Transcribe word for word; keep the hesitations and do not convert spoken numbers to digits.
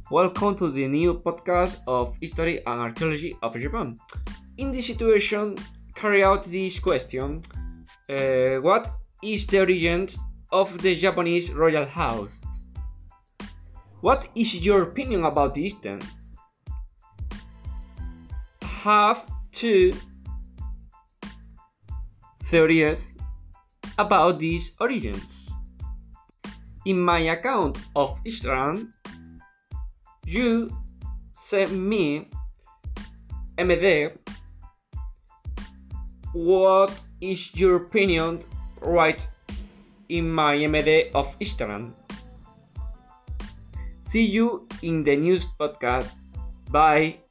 Welcome to the new podcast of History and Archaeology of Japan. In this situation, carry out this question. Uh, what is the origin of the Japanese royal house? What is your opinion about this then? Have two theories about these origins. In my account of Instagram, you sent me M D. What is your opinion? Write in my M D of Instagram. See you in the news podcast. Bye.